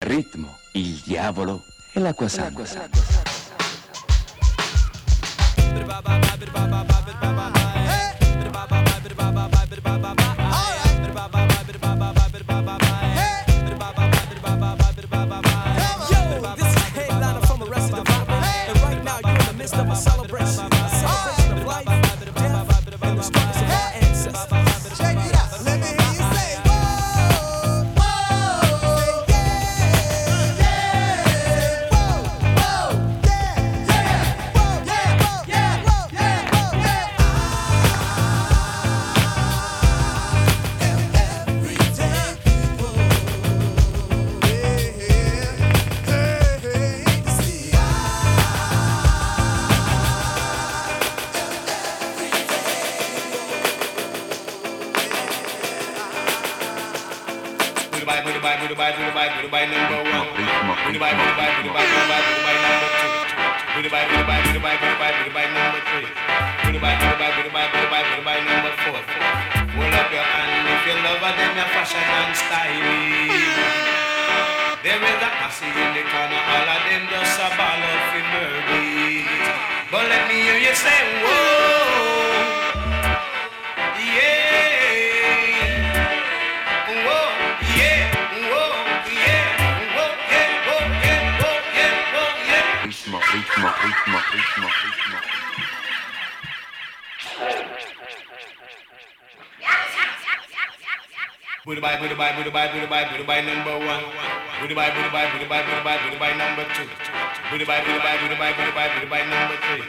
ritmo, il diavolo e l'acqua santa. Goodbye number one. Goodbye number two. Goodbye number three.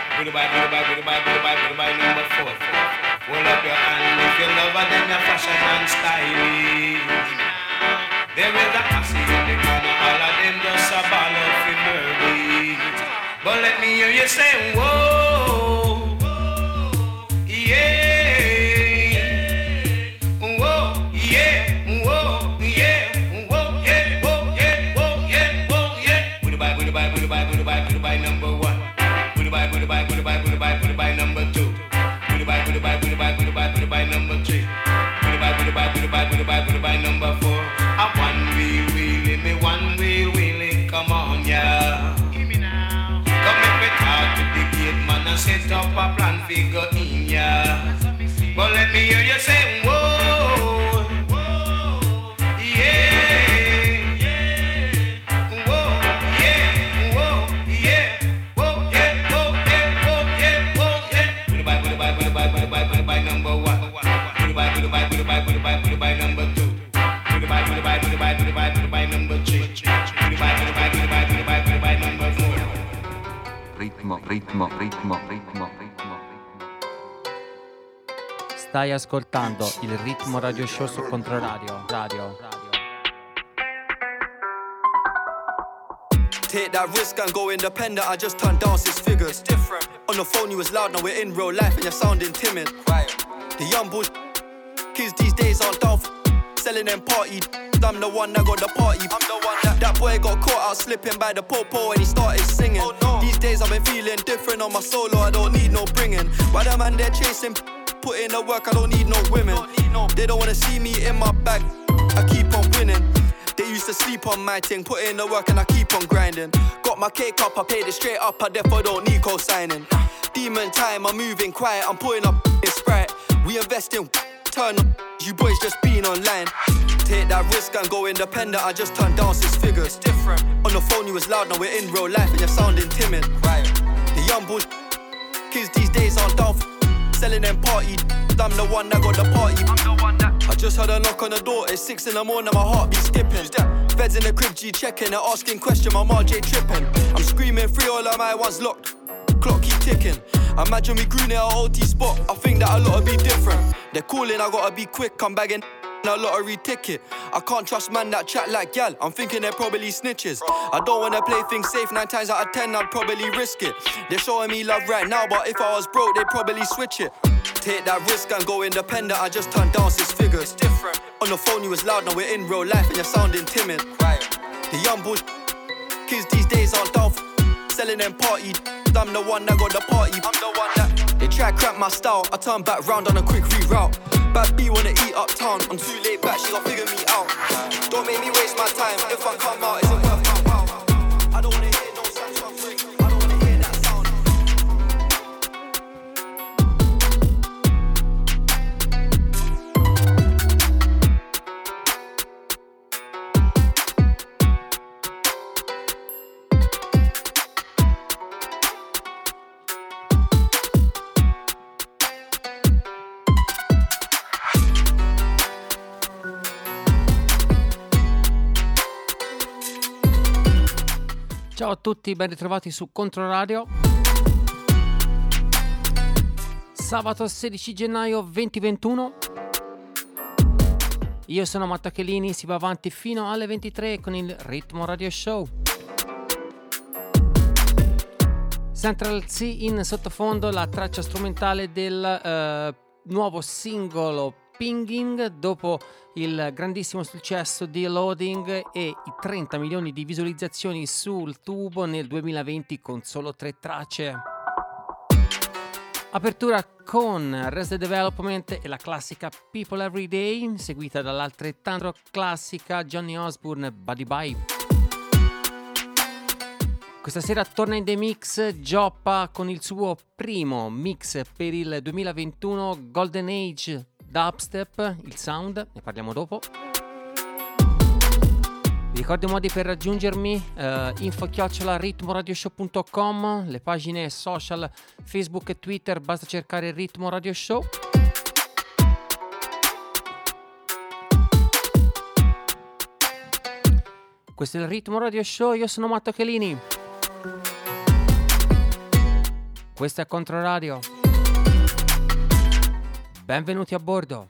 Goodbye number four. Hold up your hand if you love her, then your fashion and style. There is a posse in the corner, all of them just a ball of murder. But let me hear you say, whoa, yeah. Goodbye number one. Goodbye number two. Goodbye number three. Goodbye number four. A one wheelie, come on, yeah. Give me now. Come make me talk to the gate man and set up a plan figure in, yeah. But let me hear you say, whoa, yeah. Goodbye number one. Goodbye number two. Goodbye number three. Goodbye number four. Ritmo. Stai ascoltando il Ritmo Radio Show su Controradio. Take that risk and go independent. I just turned down 6 figures. It's different. On the phone you was loud, now we're in real life and you're sounding timid. Right. The young bush kids these days aren't down for selling them party. I'm the one that got the party. I'm the one that boy got caught out slipping by the popo and he started singing. Oh, no. These days I've been feeling different on my solo. I don't need no bringing. Why the man they're chasing, put in the work. I don't need no women. They don't wanna see me in my bag. I keep on winning. They used to sleep on my thing, put in the work and I keep on grinding. Got my cake up, I paid it straight up, I therefore don't need co-signing. Demon time, I'm moving quiet, I'm putting up in Sprite. We invest in, turn up, you boys just been online. Take that risk and go independent, I just turned down 6 figures. It's different. On the phone you was loud, now we're in real life and you're sounding timid. Right. The young bush kids these days aren't down for selling them party. I'm the one that got the party. I'm the one that I just heard a knock on the door, it's 6 in the morning, my heart be skipping. Feds in the crib, G checking, they're asking questions, my RJ tripping. I'm screaming free, all of my ones locked, clock keep ticking. Imagine we grew near our OT spot, I think that a lot would be different. They're calling, I gotta be quick, I'm bagging a lottery ticket. I can't trust man that chat like gal, I'm thinking they're probably snitches. I don't wanna play things safe, 9 times out of 10 I'd probably risk it. They're showing me love right now, but if I was broke they'd probably switch it. Take that risk and go independent, I just turned down 6 figures. It's different. On the phone you was loud, now we're in real life and you're sounding timid. Right. The young bush kids these days aren't down for selling them party. I'm the one that got the party. I'm the one that they try cramp my style, I turn back round on a quick reroute. Bad B wanna eat uptown. I'm too laid back, she gon' figure me out. Don't make me waste my time. If I come out, is it worth my pound? I don't wanna hear no sound suffering. I don't wanna hear that sound. Ciao a tutti, ben ritrovati su Controradio. Sabato 16 gennaio 2021. Io sono Matteo Chelini, si va avanti fino alle 23 con il Ritmo Radio Show. Central C in sottofondo, la traccia strumentale del nuovo singolo Pinging, dopo il grandissimo successo di Loading e i 30 milioni di visualizzazioni sul tubo nel 2020 con solo 3 tracce. Apertura con Resident Development e la classica People Every Day, seguita dall'altrettanto classica Johnny Osbourne Buddy Bye. Questa sera torna in The Mix Gioppa con il suo primo mix per il 2021, Golden Age Dubstep, il sound, ne parliamo dopo. Vi ricordo i modi per raggiungermi, info@ritmoradioshow.com, le pagine social Facebook e Twitter, basta cercare Ritmo Radio Show. Questo è il Ritmo Radio Show, io sono Matteo Chelini. Questo è Controradio. Benvenuti a bordo.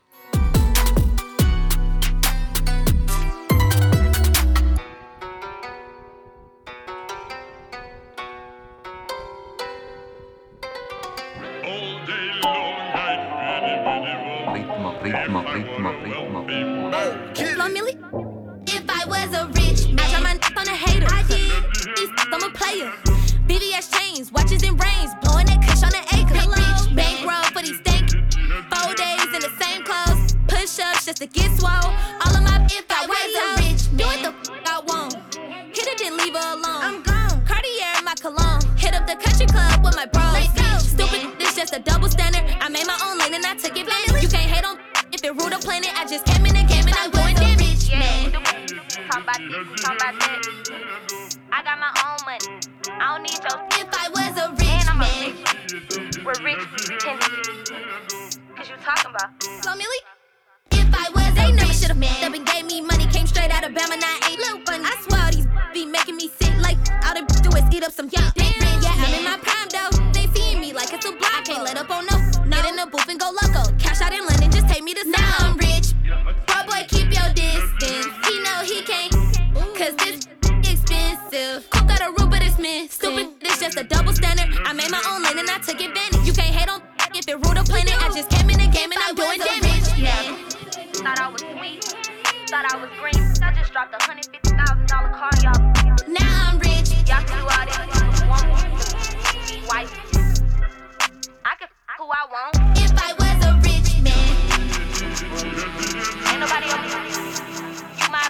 Slow Millie? If I was a rich man, I try my on a hater. I did. I'm a player. BBS chains, watches and rings, blowing that kush on an acre. Bitch, bankroll for these stank. 4 days in the same clothes, push-ups just to get swole. All of my if I was a rich man, do what the I want. Hit it then leave her alone. I'm gone. Cartier in my cologne. Hit up the country club with my bros. Stupid, this just a double standard. I made my own lane and I took advantage. You can't hate on if it ruled a planet. I just came in and I'm going damage. Yeah, talk about this, talk about that. I got my own money. I don't need your. If I was a rich man, rich. We're rich, pretending. Cause you talking about. Slow Millie? If I was they never should've fucked up and gave me money. Came straight out of Bama, now I ain't little funny. I swear all these be making me sick. Like all they do is eat up some young. Yeah, I'm in my prime though. They seeing me like it's a block. I can't let up on no. Get in the booth and go loco. Cash out in London, just take me to now I'm rich. Bro boy, keep your distance. He know he can't. Cause this expensive. Coke got a roof, but it's missing. Stupid, it's just a double standard. I made my own lane and I took advantage. You can't hate on if it ruled a planet. I just came in the game and I'm doing damage. Yeah. Thought I was sweet. Thought I was green. I just dropped $150,000 car, y'all. Now I'm rich. Y'all can do all this. Want white. I can who I want. If I was a rich man. Ain't nobody else. You my.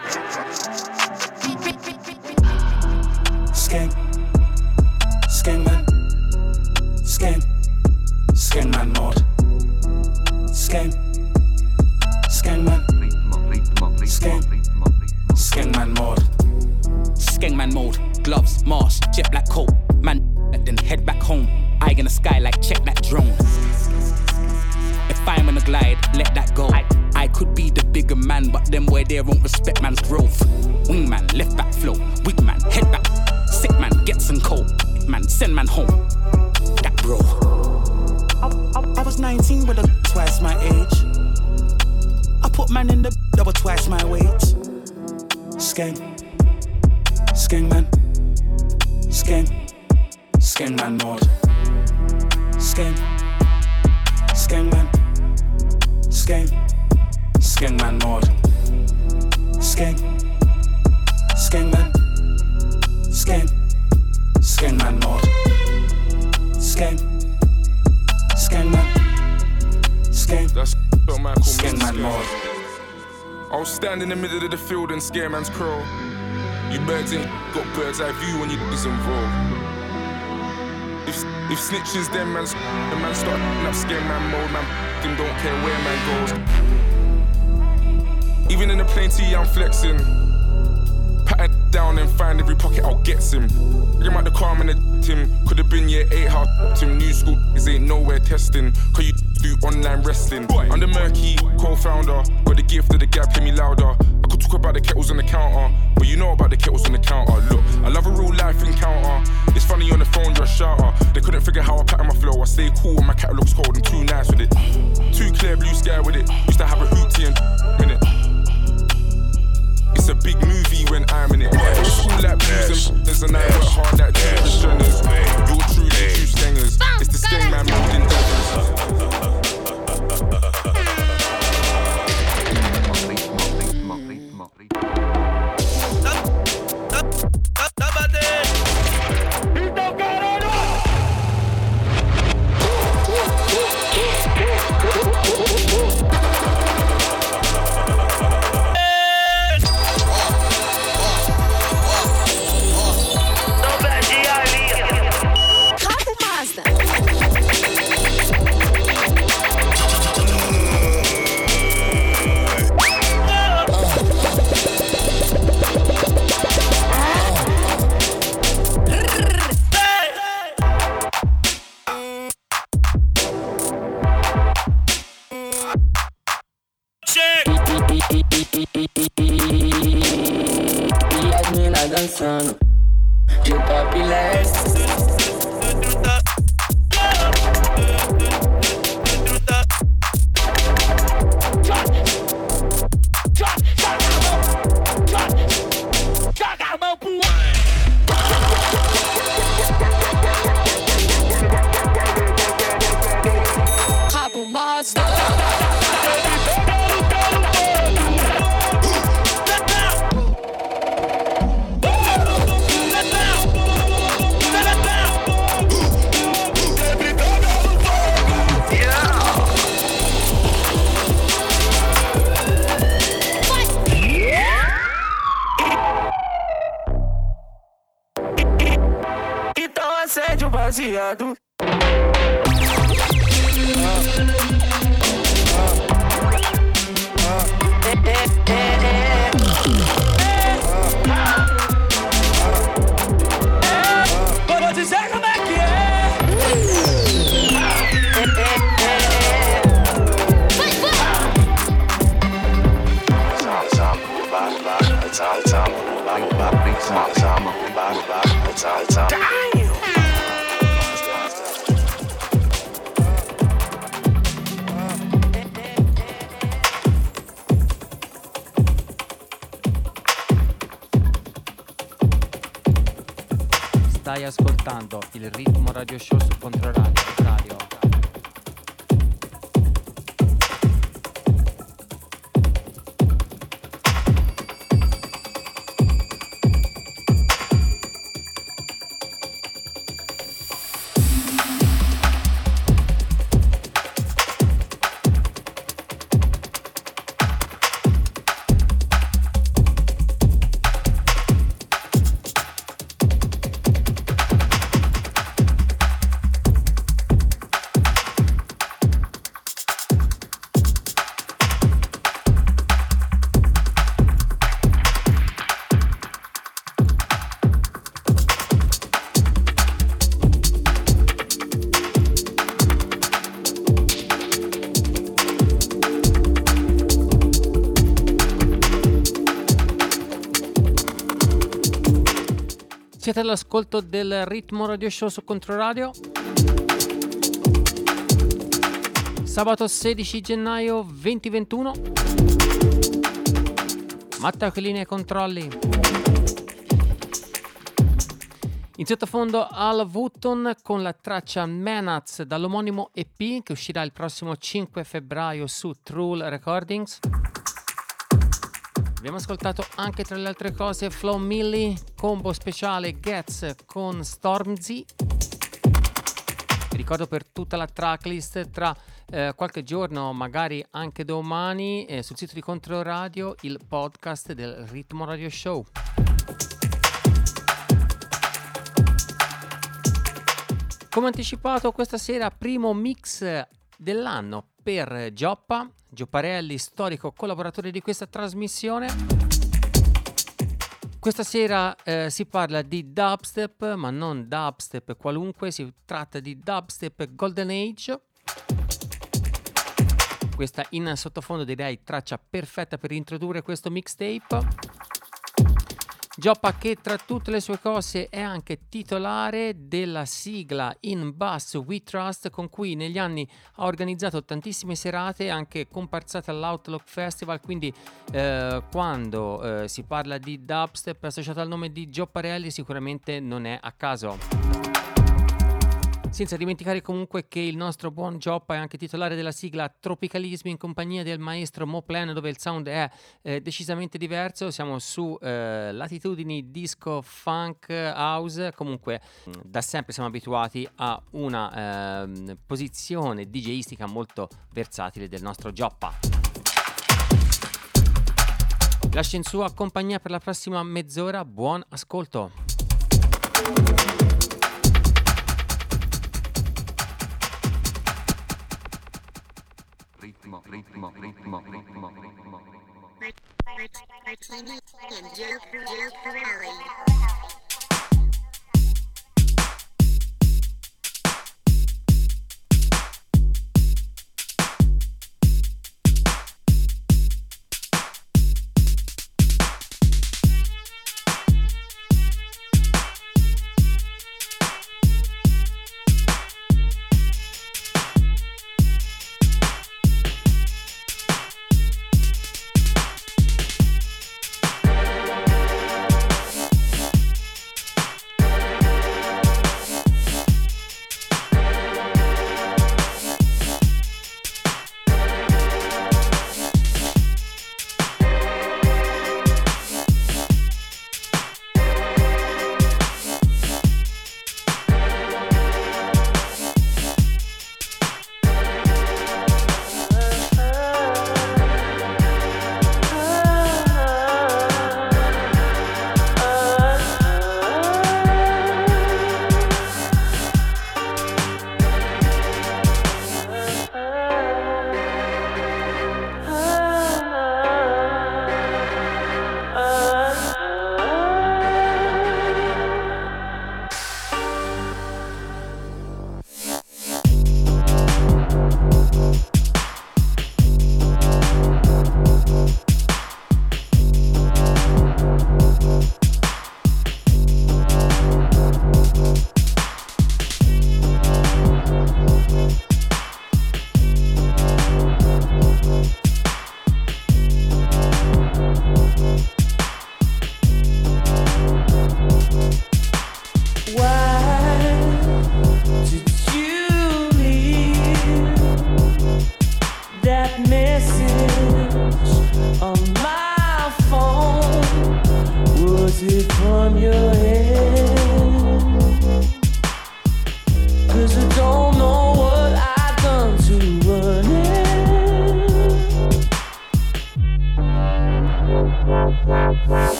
Skeng, skeng man, skeng, skeng man mod, skeng, skeng man, skeng, skeng man mod, skeng man mode, gloves, mask, jet black coat, man, then head back home, eye in the sky like check that drone. If I'm on a glide, let that go. I could be the bigger man, but them where they won't respect man's growth. Wingman, left back flow, weak man, head back. Sick man, get some cold. Man, send man home. That bro. I was 19 with a twice my age. I put man in the double twice my weight. Skeng, skeng man, skeng, skeng man mod, skeng, skeng man, skeng, skeng man mod, skeng, skeng man, skeng, skeng man mod, skeng, skeng man, skeng, stand in the middle of the field and scare man's crow. You birds ain't got bird's eye view when you is involved. If snitches them man's the man start up scare man mode, man them don't care where man goes. Even in the plain tee I'm flexing. Pat it down and find every pocket I'll get him. Bring him out the car and him. Could have been year 8 how him. New school is ain't nowhere testing. Cause you do online wrestling. I'm the murky co-founder. Got the gift of the gap, hear me louder. I could talk about the kettles on the counter, but you know about the kettles on the counter. Look, I love a real life encounter. It's funny on the phone, you're a shouter. They couldn't figure how I pattern my flow. I stay cool when my catalog's cold. I'm too nice with it. Too clear blue sky with it. Used to have a hoopty and minute. It's a big movie when I'm in it. It's cool like blues and and I work hard like televisioners. You're truly true skengers. It's the skeng man moved in Stai ascoltando il Ritmo Radio Show su Controradio. Siete all'ascolto del Ritmo Radio Show su Controradio. Sabato 16 gennaio 2021. Matteo Chiellini ai controlli. In sottofondo Al Wooton con la traccia Manats dall'omonimo EP che uscirà il prossimo 5 febbraio su True Recordings. Abbiamo ascoltato anche tra le altre cose Flo Milli, combo speciale Gets con Stormzy Ti ricordo per tutta la tracklist tra qualche giorno, magari anche domani, sul sito di Controradio il podcast del Ritmo Radio Show. Come anticipato, questa sera primo mix dell'anno per Giopparelli, storico collaboratore di questa trasmissione. Questa sera si parla di dubstep, ma non dubstep qualunque, si tratta di dubstep Golden Age. Questa in sottofondo direi traccia perfetta per introdurre questo mixtape. Gioppa, che tra tutte le sue cose è anche titolare della sigla In Bass We Trust, con cui negli anni ha organizzato tantissime serate, anche comparsate all'Outlook Festival, quindi quando si parla di dubstep associato al nome di Giopparelli sicuramente non è a caso. Senza dimenticare comunque che il nostro buon Gioppa è anche titolare della sigla Tropicalismi in compagnia del maestro Moplen, dove il sound è decisamente diverso. Siamo su latitudini disco, funk, house. Comunque da sempre siamo abituati a una posizione DJistica molto versatile del nostro Gioppa. Lascio in sua compagnia per la prossima mezz'ora. Buon ascolto. Ritmo.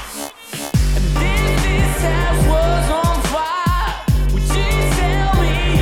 This house was on fire. Would you tell me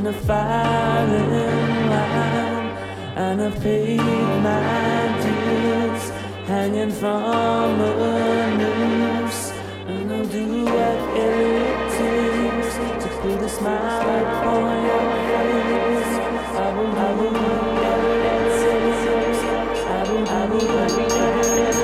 a firing line, and I paid my dues, hanging from a noose, and I'll do whatever it takes to put a smile upon your face. I will whatever it takes. I will whatever it takes.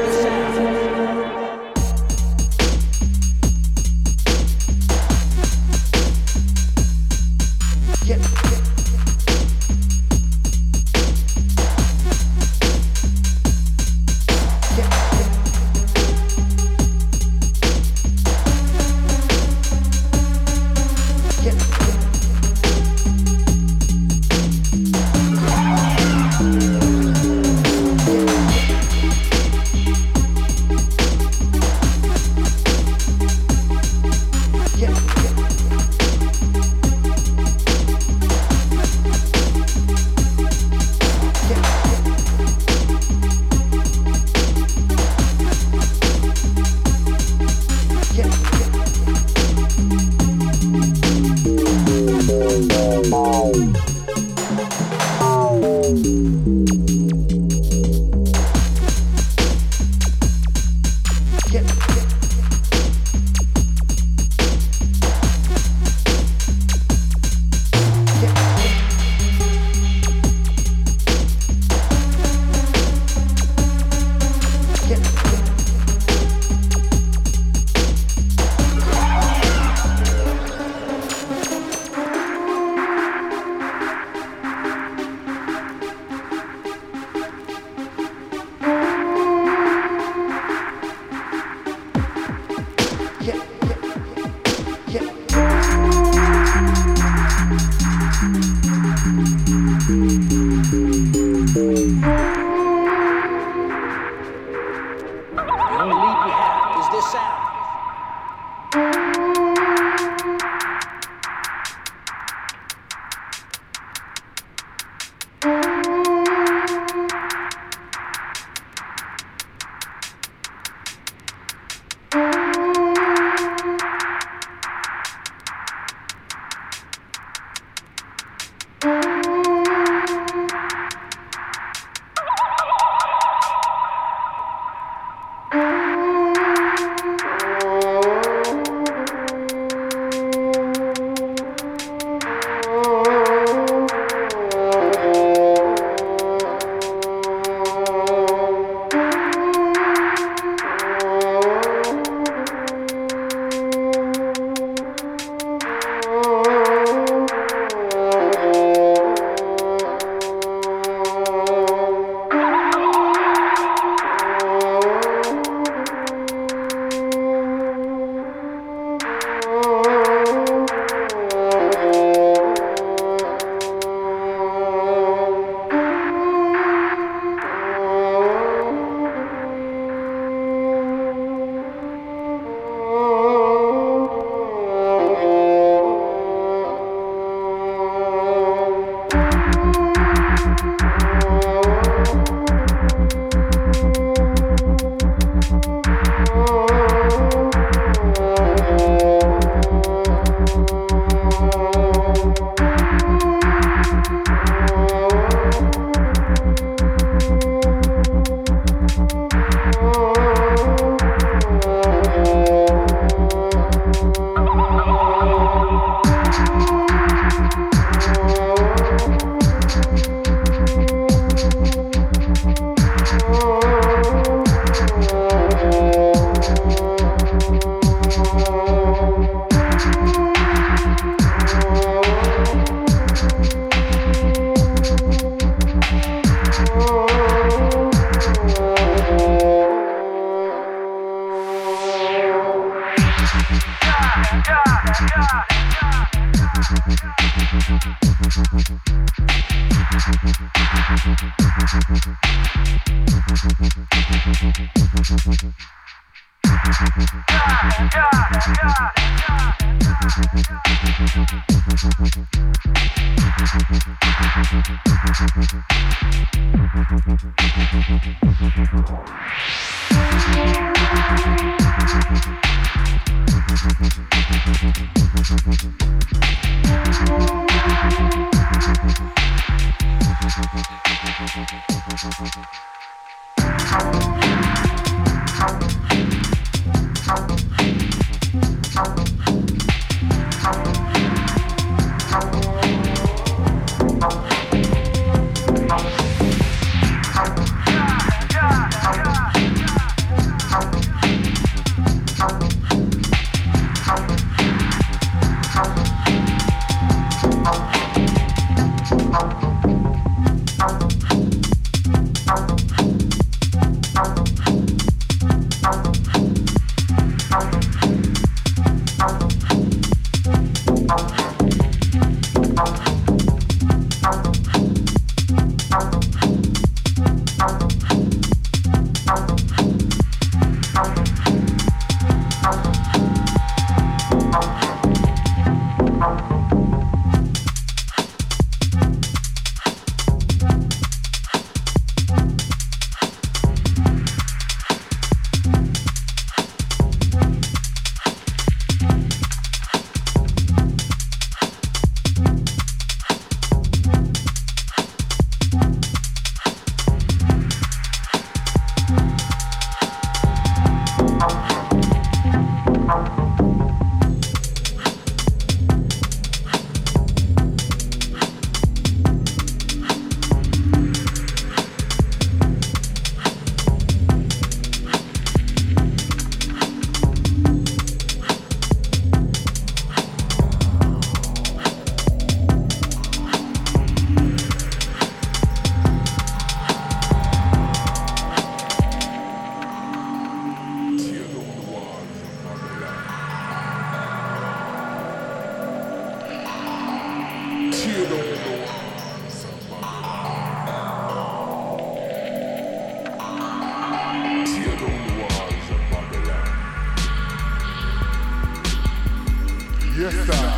Yes, sir.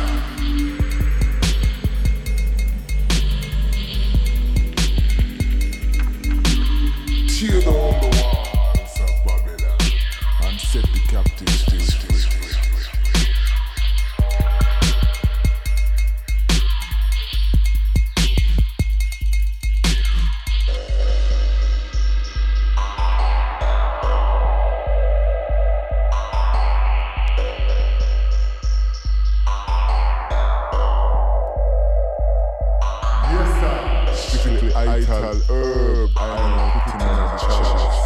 Tear down the walls of Babylon and set the captives free. Ital herb, I am putting on a chest.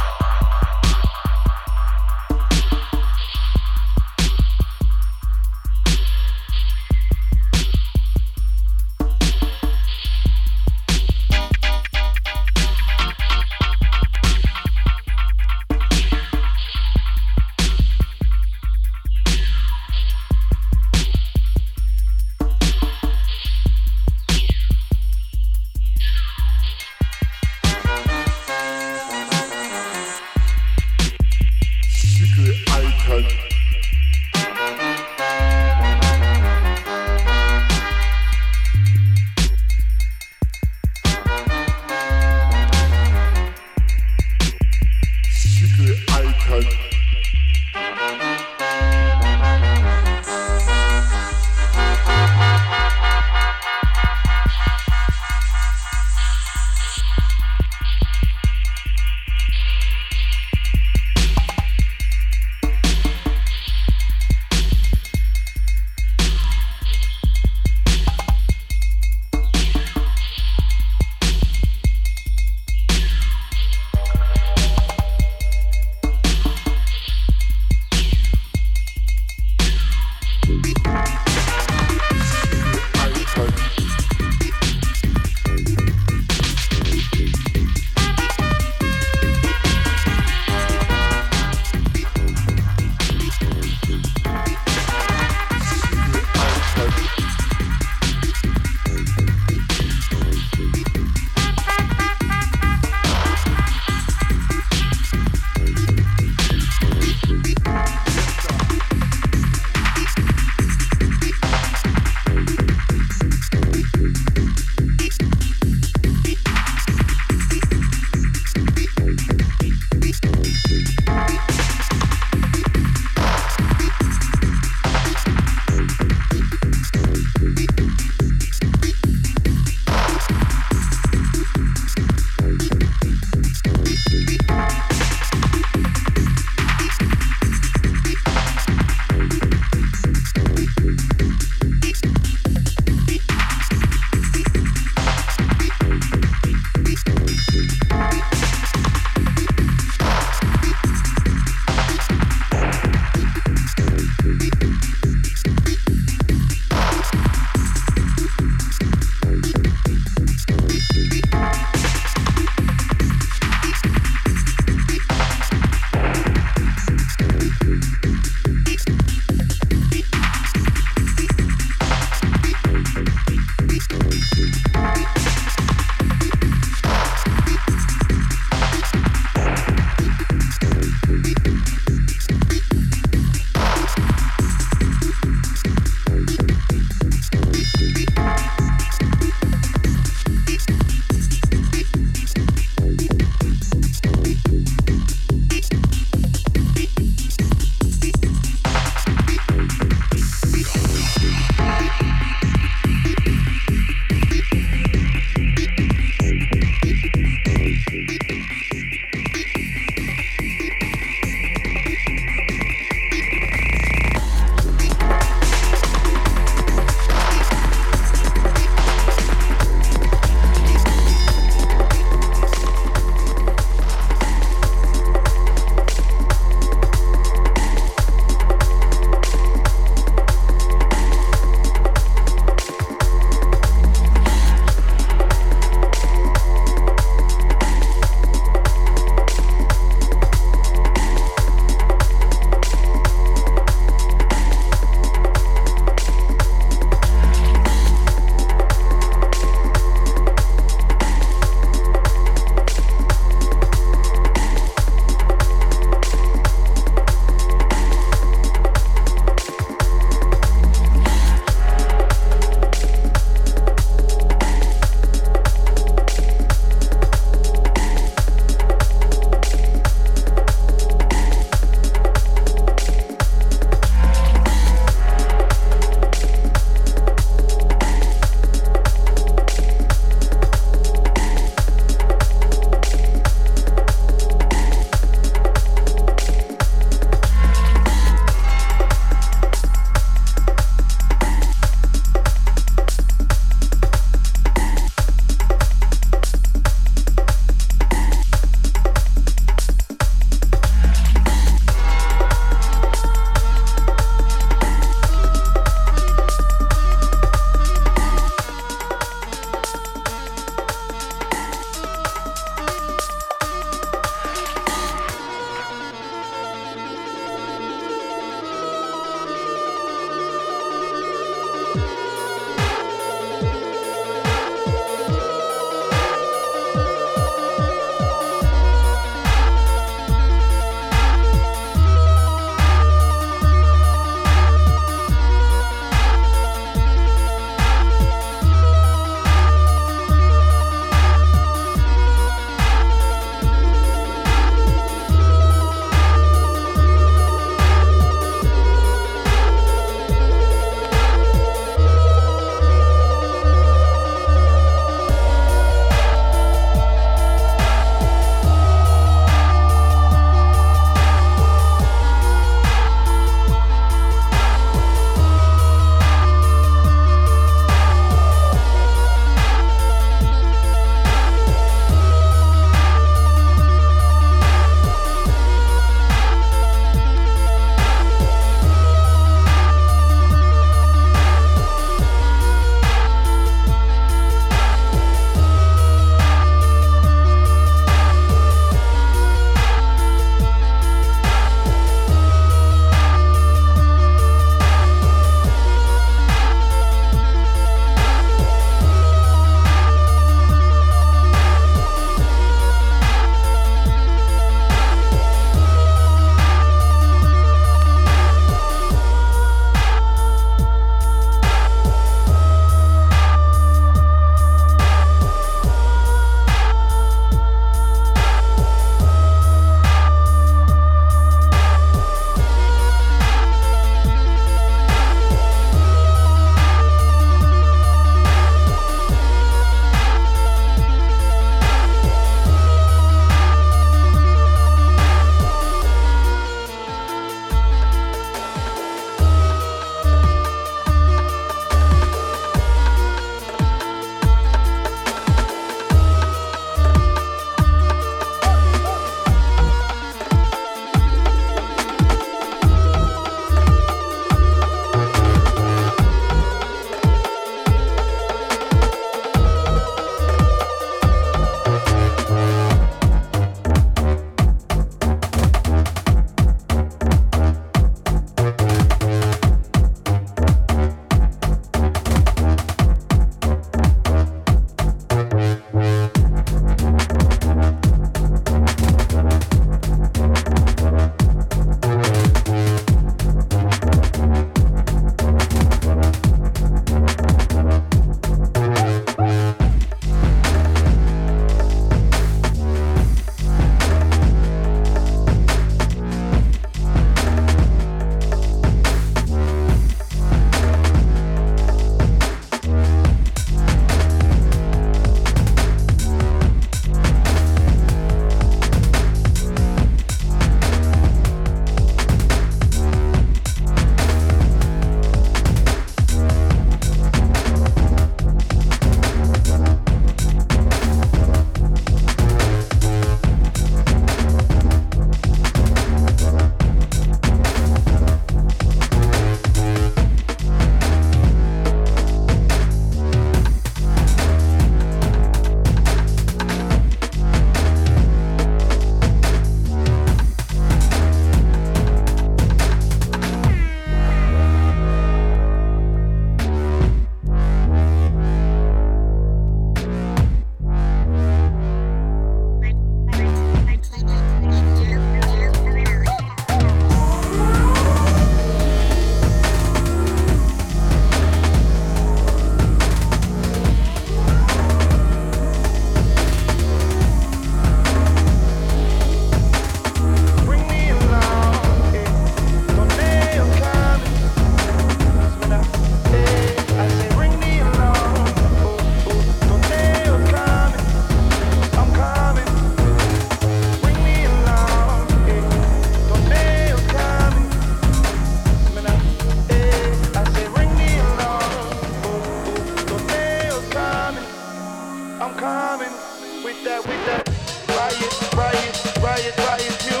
coming with that riot music. Riot music.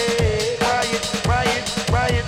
Riot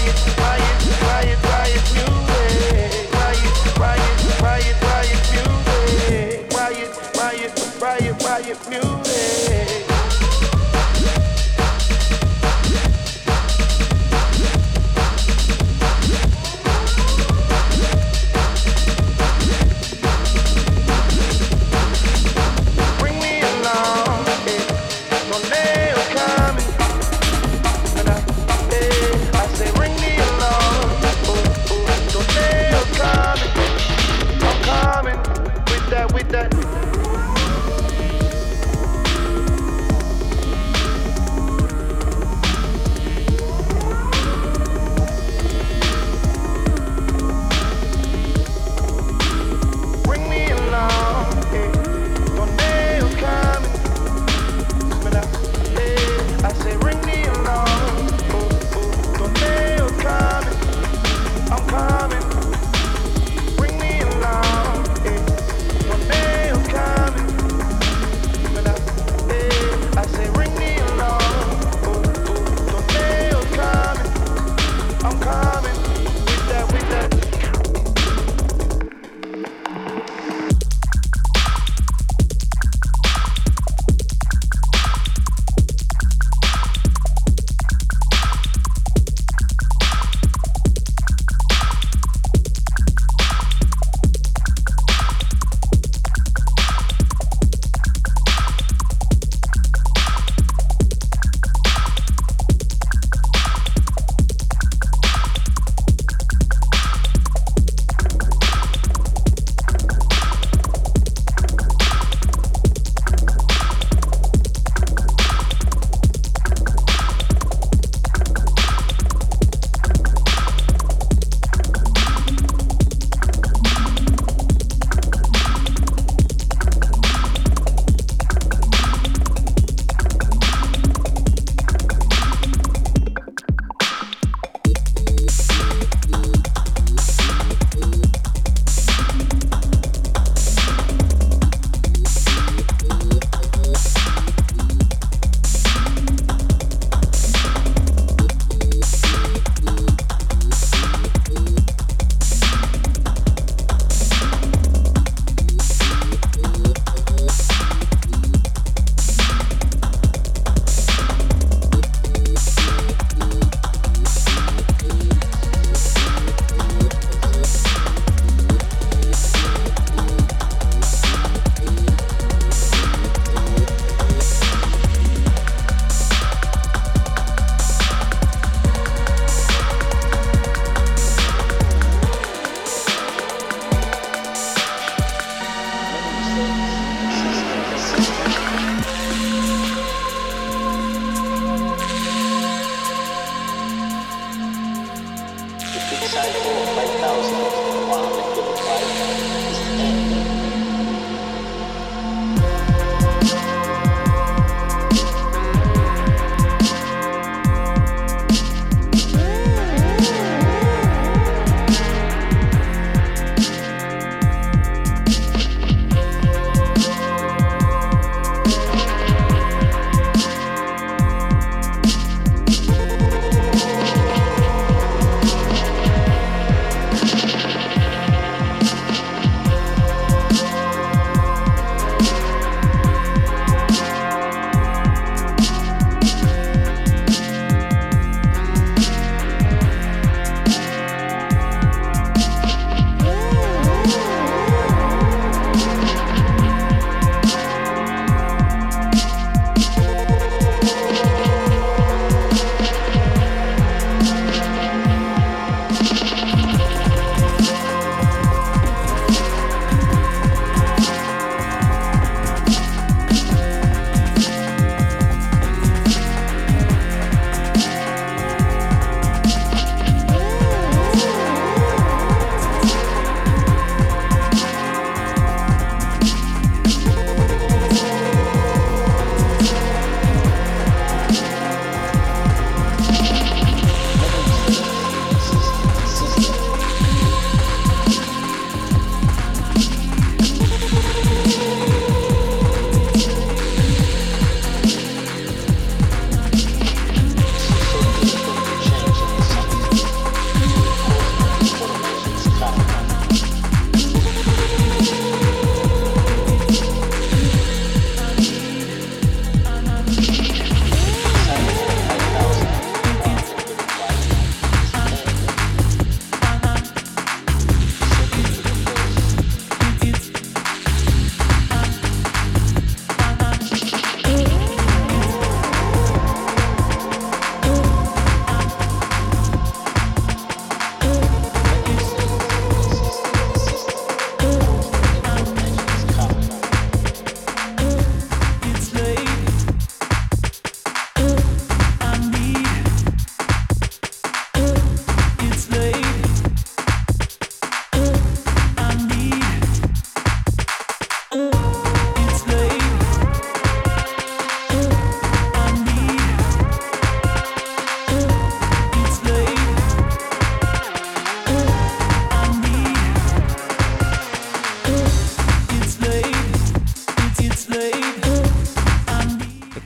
music.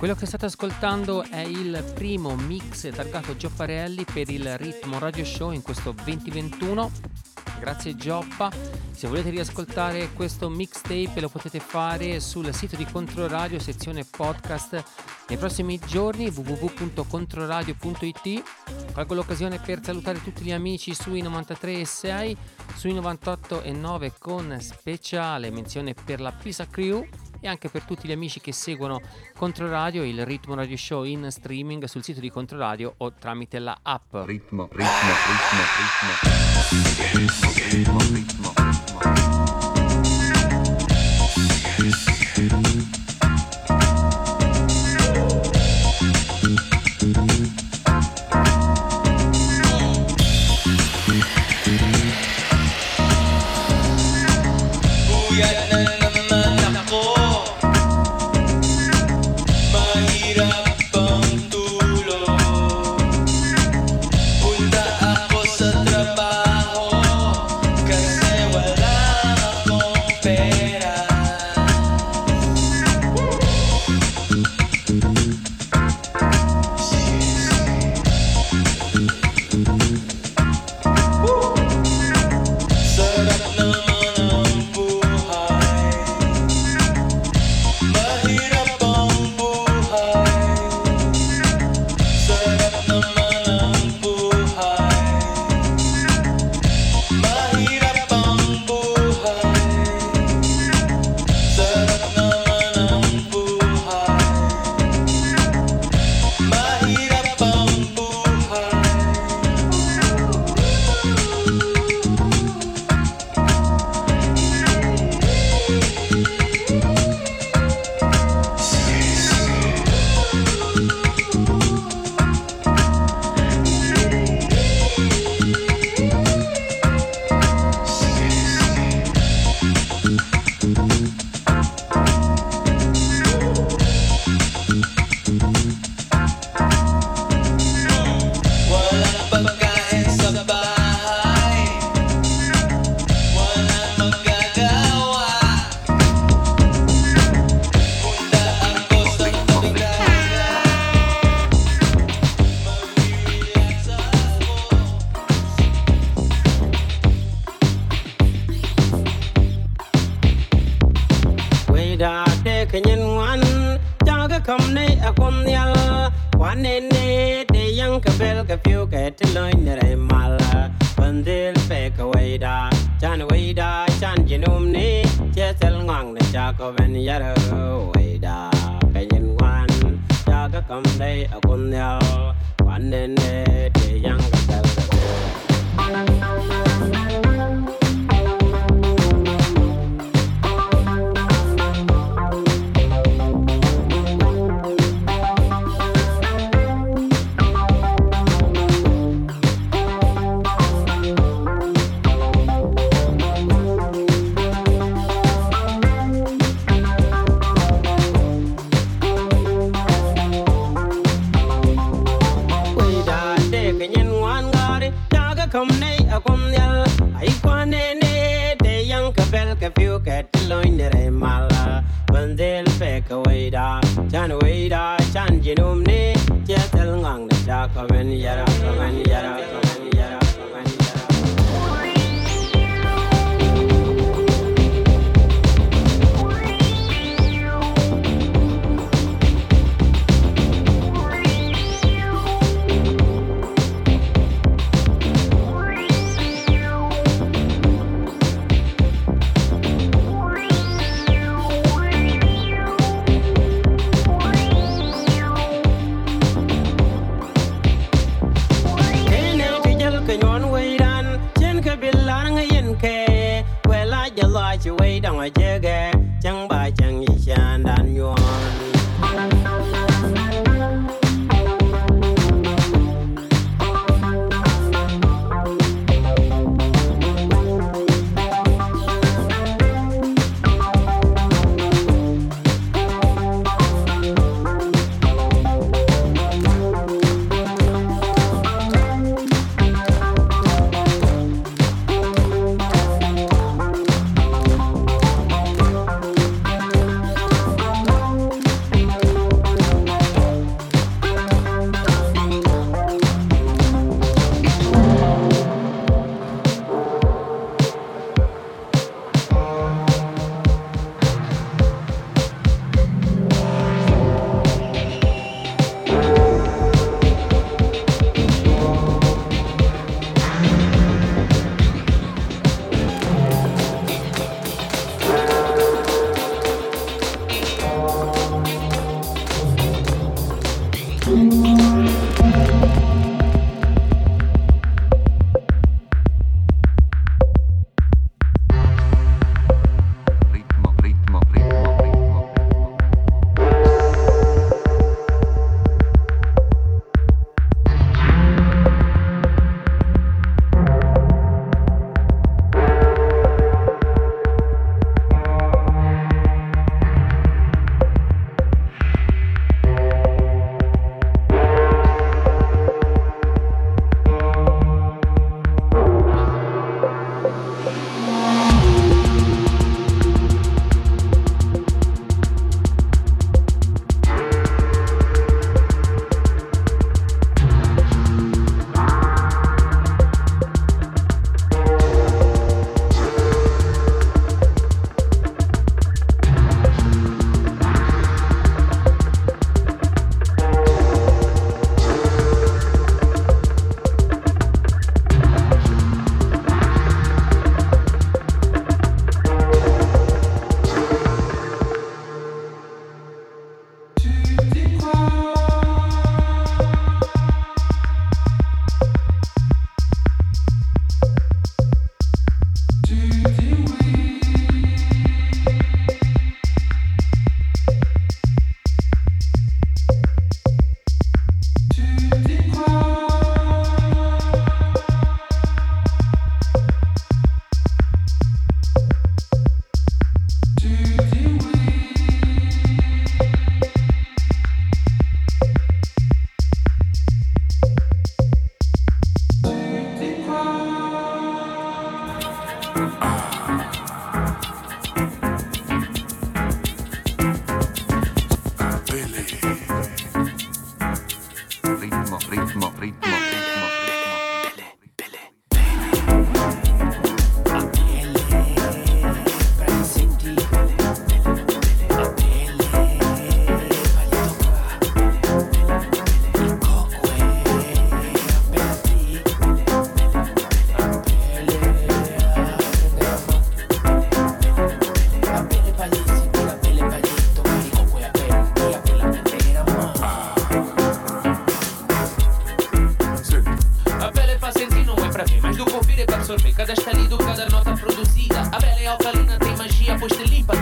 Quello che state ascoltando è il primo mix targato Giopparelli per il Ritmo Radio Show in questo 2021. Grazie Gioppa. Se volete riascoltare questo mixtape lo potete fare sul sito di Controradio, sezione podcast, nei prossimi giorni, www.controradio.it. Colgo l'occasione per salutare tutti gli amici sui 93.6, sui 98.9 con speciale menzione per la Pisa Crew e anche per tutti gli amici che seguono Controradio, il Ritmo Radio Show in streaming sul sito di Controradio o tramite la app. Ritmo.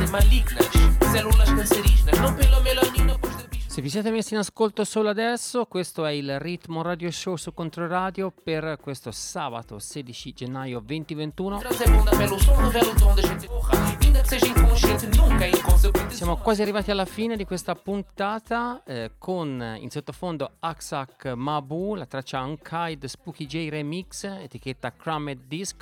malignas, células cancerígenas, não pela melanina, pois da bicha. Se vi siete messi in ascolto solo adesso, questo è il Ritmo Radio Show su Controradio per questo sabato 16 gennaio 2021. Siamo quasi arrivati alla fine di questa puntata con in sottofondo Aksak Mabu, la traccia Unkind Spooky J Remix, etichetta Crammed Disc.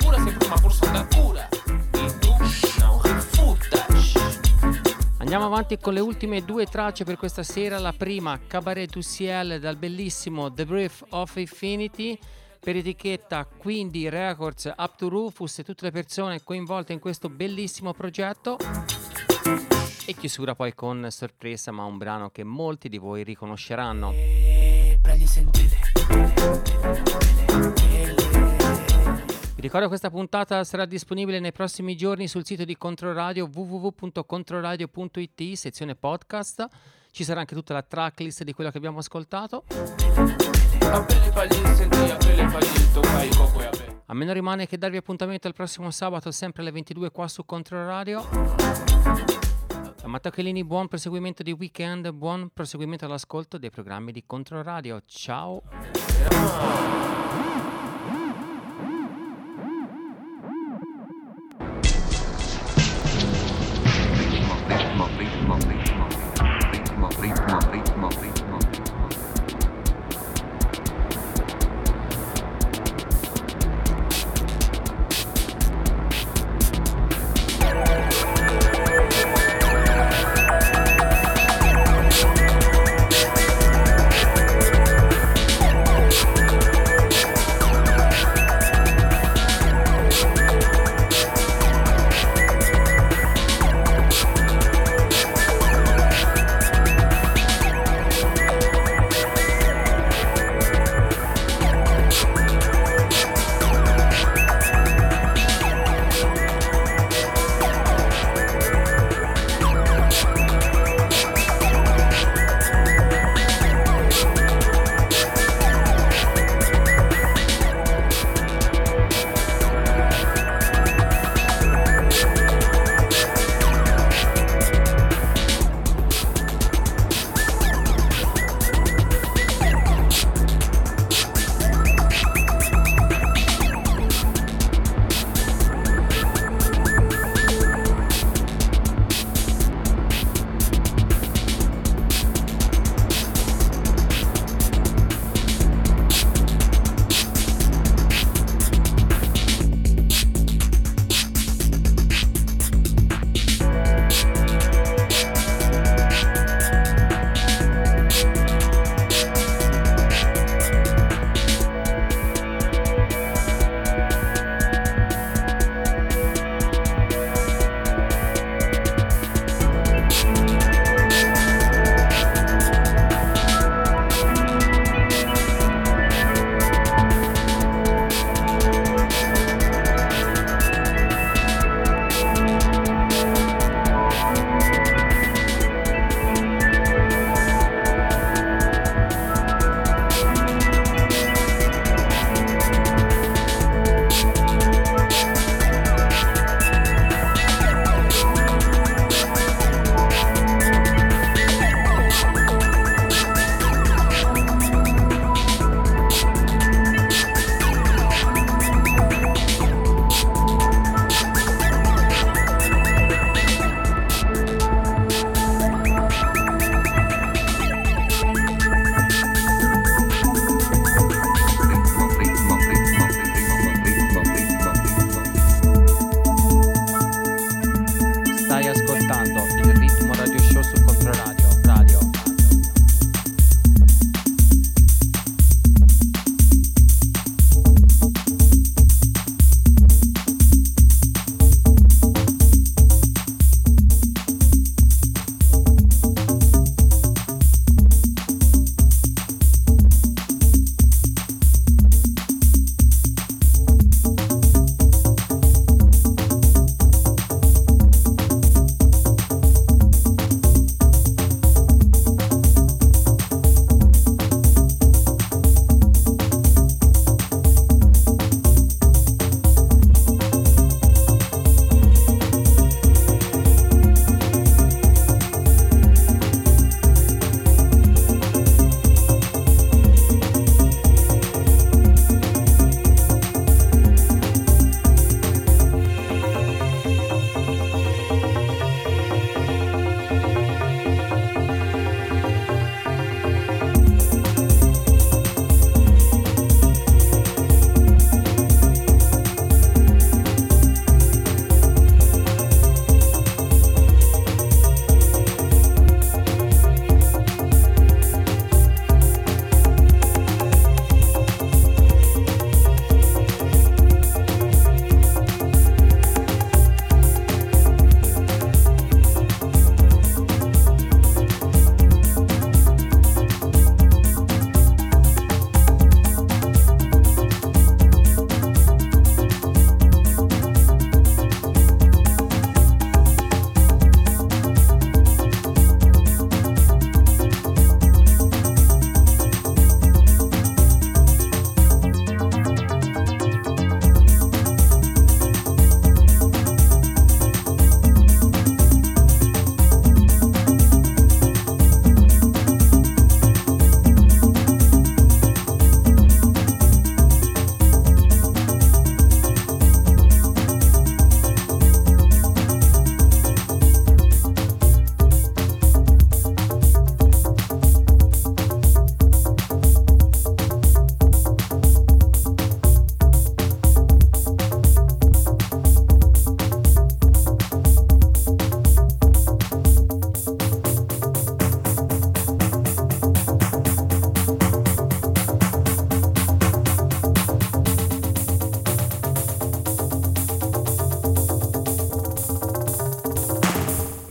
Andiamo avanti con le ultime due tracce per questa sera. La prima, Cabaret du Ciel, dal bellissimo The Brief of Infinity, per etichetta Quindi Records, Up to Rufus e tutte le persone coinvolte in questo bellissimo progetto. E chiusura poi con sorpresa, ma un brano che molti di voi riconosceranno. Vi ricordo che questa puntata sarà disponibile nei prossimi giorni sul sito di Controradio www.controradio.it, sezione podcast. Ci sarà anche tutta la tracklist di quello che abbiamo ascoltato. A me non rimane che darvi appuntamento al prossimo sabato sempre alle 22 qua su Controradio. Da Matteo Chelini, buon proseguimento di weekend, buon proseguimento all'ascolto dei programmi di Controradio. Ciao!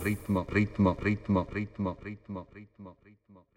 ritmo, ritmo, ritmo, ritmo, ritmo, ritmo, ritmo.